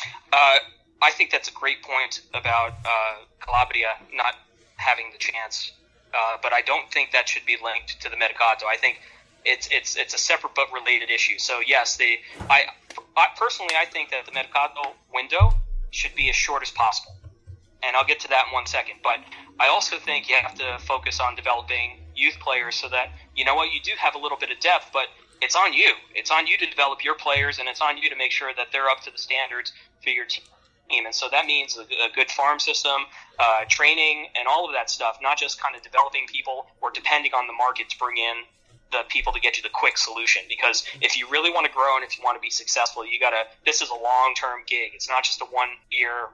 I think that's a great point about Calabria not having the chance, but I don't think that should be linked to the Mercato. I think it's a separate but related issue. So yes, I personally think that the Mercato window should be as short as possible, and I'll get to that in 1 second. But I also think you have to focus on developing youth players so that you do have a little bit of depth, but it's on you. It's on you to develop your players, and it's on you to make sure that they're up to the standards for your team. And so that means a good farm system, training, and all of that stuff, not just kind of developing people or depending on the market to bring in the people to get you the quick solution. Because if you really want to grow and if you want to be successful, this is a long-term gig. It's not just a 1 year,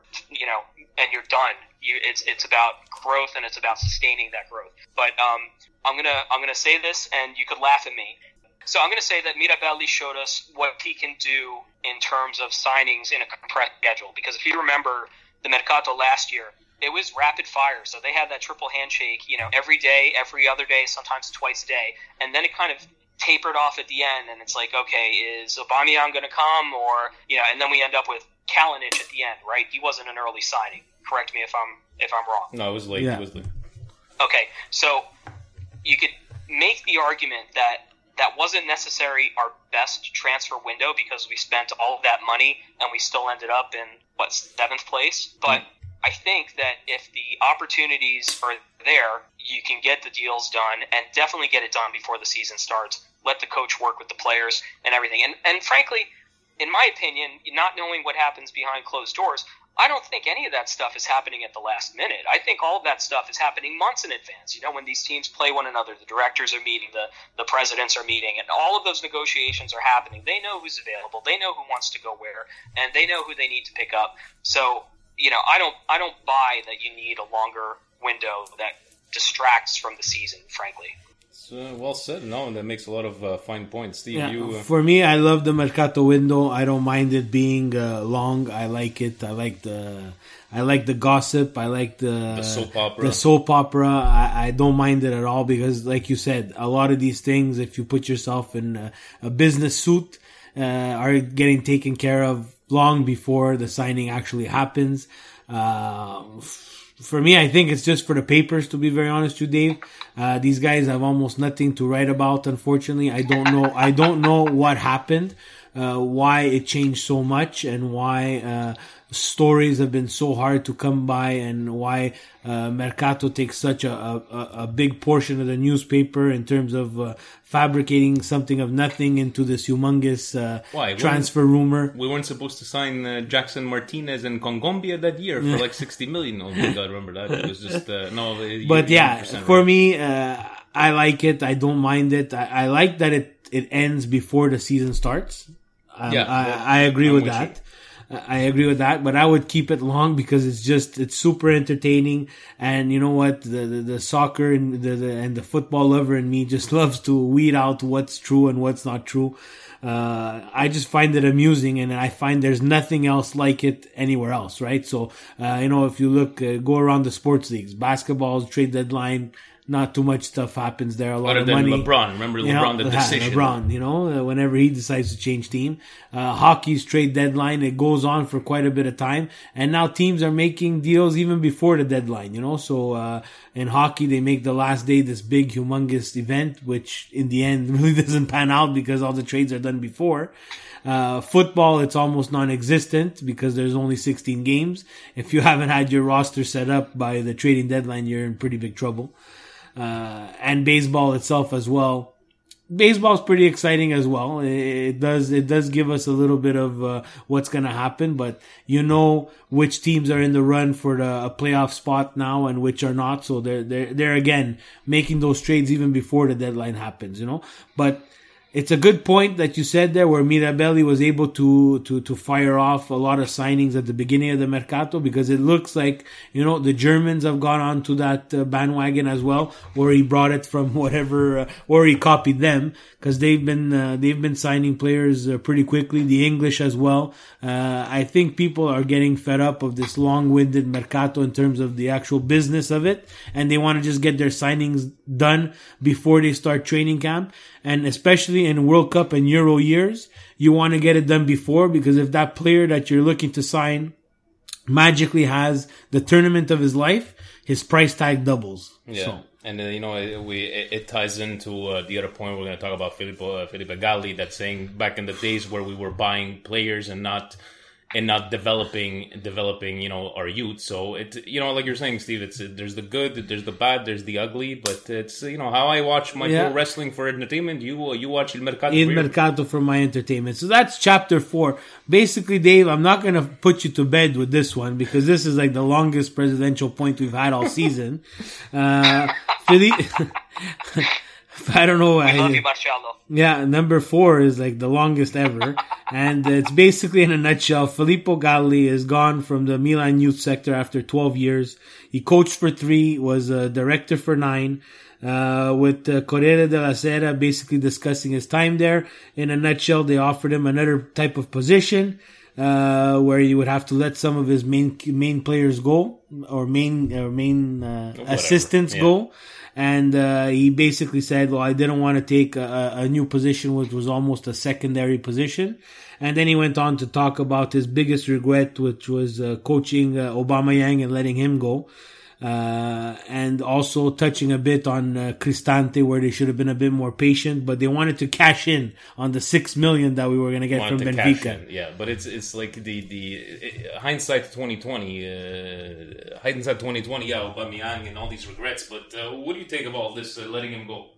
and you're done. It's about growth, and it's about sustaining that growth. But I'm gonna say this, and you could laugh at me. So I'm going to say that Mirabelli showed us what he can do in terms of signings in a compressed schedule. Because if you remember the Mercato last year, it was rapid fire. So they had that triple handshake, every day, every other day, sometimes twice a day. And then it kind of tapered off at the end. And it's like, okay, is Aubameyang going to come? Or, and then we end up with Kalinic at the end, right? He wasn't an early signing. Correct me if I'm wrong. No, it was late. Yeah. It was late. Okay, so you could make the argument that wasn't necessarily our best transfer window because we spent all of that money and we still ended up in, 7th place? But I think that if the opportunities are there, you can get the deals done and definitely get it done before the season starts. Let the coach work with the players and everything. And frankly, in my opinion, not knowing what happens behind closed doors, I don't think any of that stuff is happening at the last minute. I think all of that stuff is happening months in advance. When these teams play one another, the directors are meeting, the presidents are meeting, and all of those negotiations are happening. They know who's available. They know who wants to go where, and they know who they need to pick up. So, I don't buy that you need a longer window that distracts from the season, frankly. Well said. No, that makes a lot of fine points. Steve, For me, I love the Mercato window. I don't mind it being long. I like it. I like the gossip. I like the soap opera. I don't mind it at all because, like you said, a lot of these things, if you put yourself in a business suit, are getting taken care of long before the signing actually happens. For me, I think it's just for the papers, to be very honest with you, Dave. These guys have almost nothing to write about, unfortunately. I don't know what happened, why it changed so much, and why stories have been so hard to come by, and why Mercato takes such a big portion of the newspaper in terms of fabricating something of nothing into this humongous transfer rumor. We weren't supposed to sign Jackson Martinez and Kongombia that year for like 60 million. Oh my God, remember that? It was just no. But yeah, for me, I like it. I don't mind it. I like that it ends before the season starts. I agree with that. I agree with that, but I would keep it long because it's super entertaining. And you know what? The soccer and the football lover in me just loves to weed out what's true and what's not true. I just find it amusing, and I find there's nothing else like it anywhere else, right? So, if you look, go around the sports leagues, basketball, trade deadline, not too much stuff happens there. A lot of money. LeBron, remember LeBron, the decision. LeBron, whenever he decides to change team. Hockey's trade deadline, it goes on for quite a bit of time. And now teams are making deals even before the deadline, So, in hockey, they make the last day this big, humongous event, which in the end really doesn't pan out because all the trades are done before. Football, it's almost non-existent because there's only 16 games. If you haven't had your roster set up by the trading deadline, you're in pretty big trouble. And baseball itself as well. Baseball is pretty exciting as well. It does give us a little bit of what's going to happen, but which teams are in the run for a playoff spot now and which are not. So they're again making those trades even before the deadline happens, But it's a good point that you said there where Mirabelli was able to fire off a lot of signings at the beginning of the Mercato, because it looks like, the Germans have gone on to that bandwagon as well, or he brought it from whatever, or he copied them, because they've been signing players pretty quickly. The English as well. I think people are getting fed up of this long-winded Mercato in terms of the actual business of it, and they want to just get their signings done before they start training camp. And especially in World Cup and Euro years, you want to get it done before, because if that player that you're looking to sign magically has the tournament of his life, his price tag doubles. Yeah. So. And it ties into the other point we're going to talk about, Felipe Galli, that's saying back in the days where we were buying players and not developing our youth. So it like you're saying, Steve, there's the good, there's the bad, there's the ugly, but it's how I watch my pro wrestling for entertainment. You watch Il Mercato. Il Mercato for my entertainment. So that's chapter 4. Basically, Dave, I'm not going to put you to bed with this one because this is like the longest presidential point we've had all season. I don't know. We love you, Marcello. Yeah, number 4 is like the longest ever. And it's basically, in a nutshell, Filippo Galli is gone from the Milan youth sector after 12 years. He coached for 3, was a director for 9. With Corriere della Sera basically discussing his time there. In a nutshell, they offered him another type of position, where he would have to let some of his main players go, or main assistants go. And he basically said, well, I didn't want to take a new position, which was almost a secondary position. And then he went on to talk about his biggest regret, which was coaching Aubameyang and letting him go. And also touching a bit on Cristante, where they should have been a bit more patient, but they wanted to cash in on the 6 million that we were going to get from Benfica. Yeah, but it's like the hindsight 2020, yeah, Aubameyang and all these regrets. But what do you think of all this letting him go?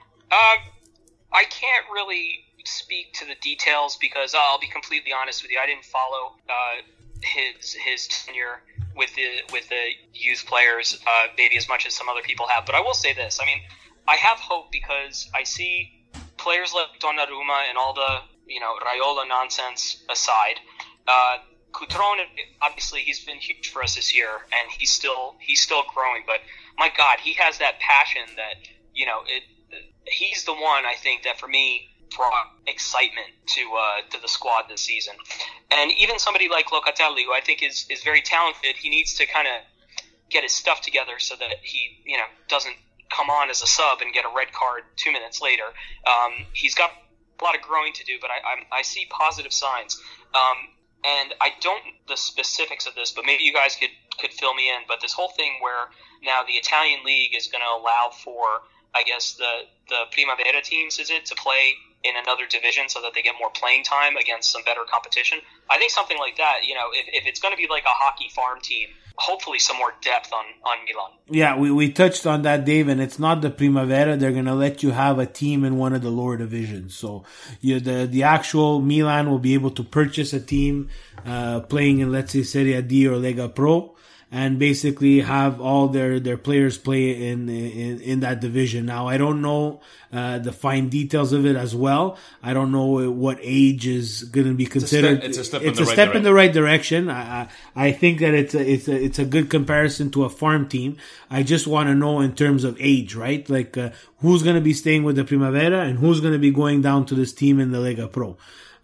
I can't really speak to the details because I'll be completely honest with you. I didn't follow his tenure with the youth players maybe as much as some other people have. But I will say this. I mean, I have hope because I see players like Donnarumma and all the, Raiola nonsense aside. Cutrone, obviously, he's been huge for us this year, and he's still growing. But my God, he has that passion that, he's the one, I think, that for me brought excitement to the squad this season. And even somebody like Locatelli, who I think is very talented, he needs to kind of get his stuff together so that he, doesn't come on as a sub and get a red card 2 minutes later. He's got a lot of growing to do, but I see positive signs. And I don't know the specifics of this, but maybe you guys could fill me in. But this whole thing where now the Italian league is going to allow for, I guess, the Primavera teams, to play in another division so that they get more playing time against some better competition. I think something like that, if it's going to be like a hockey farm team, hopefully some more depth on Milan. Yeah, we touched on that, Dave, and it's not the Primavera. They're going to let you have a team in one of the lower divisions. So the actual Milan will be able to purchase a team playing in, let's say, Serie D or Lega Pro. and basically have all their players play in that division. Now, I don't know the fine details of it as well. I don't know what age is going to be considered. It's a step in the right direction. I think that it's a good comparison to a farm team. I just want to know in terms of age, right? Like who's going to be staying with the Primavera and who's going to be going down to this team in the Lega Pro.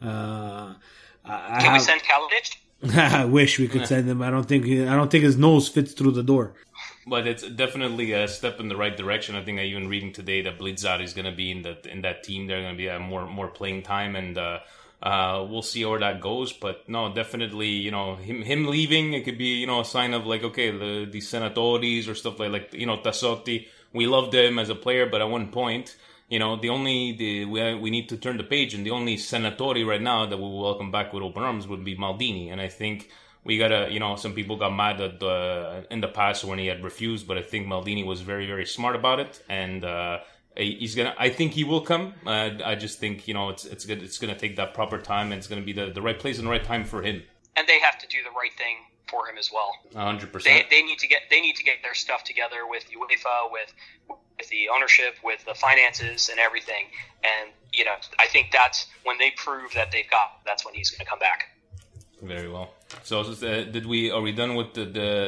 Can we send Kalinic? I wish we could send him. I don't think his nose fits through the door. But it's definitely a step in the right direction. I think I even reading today that Blizzard is going to be in that team. They're going to be more playing time, and we'll see where that goes. But no, definitely, him leaving, it could be a sign of like, okay, the Senatoris or stuff like Tassotti. We loved him as a player, but at one point, we need to turn the page, and the only Senatori right now that we will welcome back with open arms would be Maldini. And I think we gotta, some people got mad at in the past when he had refused, but I think Maldini was very, very smart about it, and I think he will come. I just think it's good. It's gonna take that proper time, and it's gonna be the right place and the right time for him. And they have to do the right thing for him as well. 100%. They need to get their stuff together with UEFA, with the ownership, with the finances and everything. And I think that's when they prove that that's when he's going to come back. Very well. So, are we done with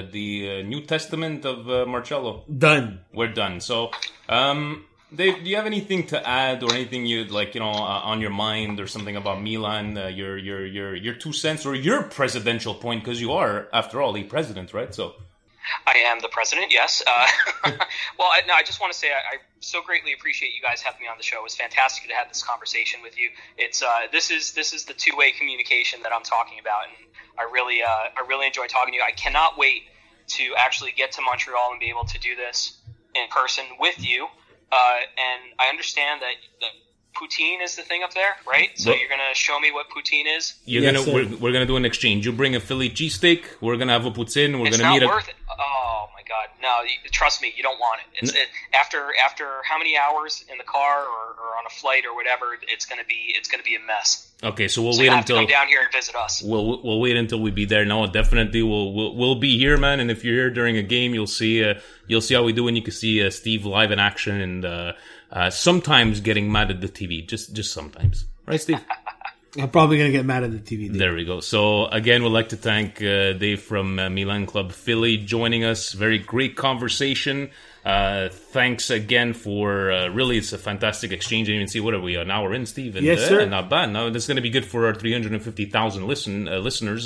the New Testament of Marcello? Done. We're done. So, Dave, do you have anything to add or anything you'd like, on your mind or something about Milan? Your 2 cents or your presidential point, because you are, after all, the president, right? So, I am the president, yes. Well, I just want to say I so greatly appreciate you guys having me on the show. It was fantastic to have this conversation with you. It's this is the two-way communication that I'm talking about, and I really enjoy talking to you. I cannot wait to actually get to Montreal and be able to do this in person with you. And I understand that poutine is the thing up there, right? So you're going to show me what poutine is? We're going to do an exchange. You bring a Philly cheesesteak, we're going to have a poutine, we're going to meet It's not worth it. Oh my God. No, trust me, you don't want it. After how many hours in the car or on a flight or whatever, it's going to be a mess. Okay, so we'll wait until you have to come down here and visit us. We'll wait until we be there. No, definitely we'll be here, man. And if you're here during a game, you'll see how we do, and you can see Steve live in action, and sometimes getting mad at the TV, just sometimes, right, Steve? I'm probably gonna get mad at the TV. Dave. There we go. So again, we'd like to thank Dave from Milan Club Philly joining us. Very great conversation. Thanks again for really, it's a fantastic exchange. I didn't even see, what are we, an hour in, Steve? And, yes, sir. Not bad. Now this is going to be good for our 350,000 listeners.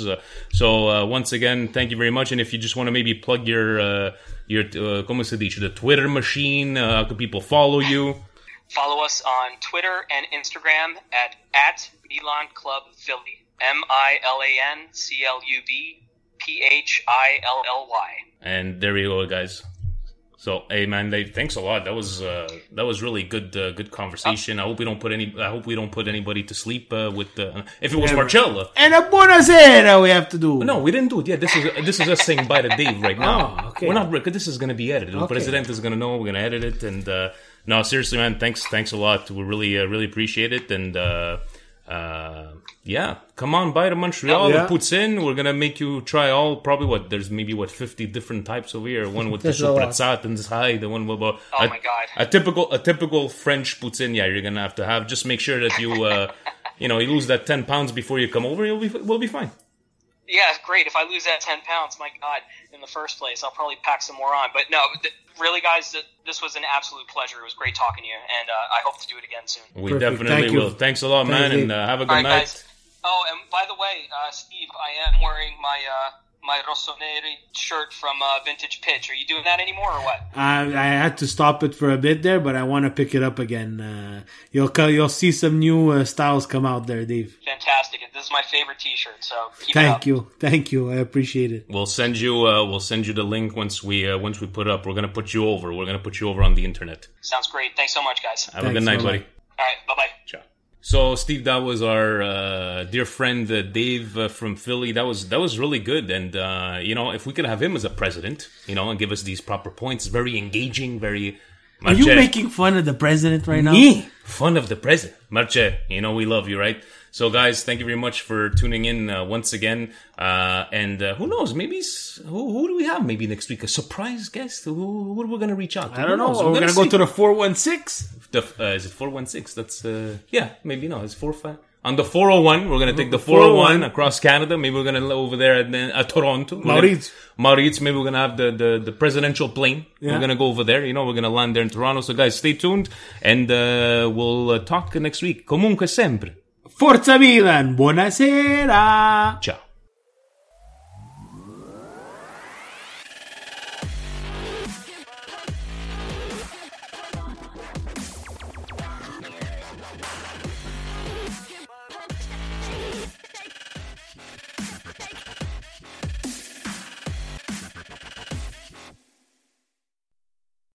So once again, thank you very much. And if you just want to maybe plug your como se dice, the Twitter machine, how can people follow you? Follow us on Twitter and Instagram at Milan Club Philly. MILAN CLUB PHILLY. And there you go, guys. So, hey man, Dave, thanks a lot. That was really good conversation. I hope we don't put anybody to sleep with if it was Marcello. And a buonasera we have to do. No, we didn't do it. Yeah, this is us saying bye to Dave right now. Oh, okay. We're not, because this is going to be edited. Okay. The president is going to know. We're going to edit it, and no, seriously, man, thanks a lot. We really appreciate it, and yeah, come on by to Montreal. Yeah. Poutine. We're gonna make you try there's maybe 50 different types over here. One with the soprazzat and zhai, the one with my God, a typical French poutine. Yeah, you're gonna have to have. Just make sure that you you lose that 10 pounds before you come over. We'll be fine. Yeah, great. If I lose that 10 pounds, my God, in the first place, I'll probably pack some more on. But no, really, guys, this was an absolute pleasure. It was great talking to you, and I hope to do it again soon. We definitely will. Thanks a lot, man, and have a good night. Guys. Oh, and by the way, Steve, I am wearing my Rossoneri shirt from Vintage Pitch. Are you doing that anymore or what? I had to stop it for a bit there, but I want to pick it up again. You'll see some new styles come out there, Dave. Fantastic. This is my favorite T-shirt, so keep it up. Thank you. I appreciate it. We'll send you the link once we put up. We're gonna put you over. We're gonna put you over on the internet. Sounds great. Thanks so much, guys. Have a good night, buddy. All right. Bye-bye. Ciao. So, Steve, that was our dear friend Dave from Philly. That was really good, and if we could have him as a president, and give us these proper points, very engaging, very Are you making fun of the president right now? Me? Fun of the president. Marce, you know we love you, right? So, guys, thank you very much for tuning in once again. And who knows? Maybe who do we have? Maybe next week a surprise guest. Who are we going to reach out to? I don't know. We're going to go to the 416. Is it 416? That's yeah. Maybe no. It's 45. On the 401, we're going to take the 401 across Canada. Maybe we're going to over there at Toronto. Maurice. Maybe we're going to have the presidential plane. Yeah. We're going to go over there. You know, we're going to land there in Toronto. So, guys, stay tuned. And we'll talk next week. Comunque sempre. Forza Milan. Buonasera. Ciao.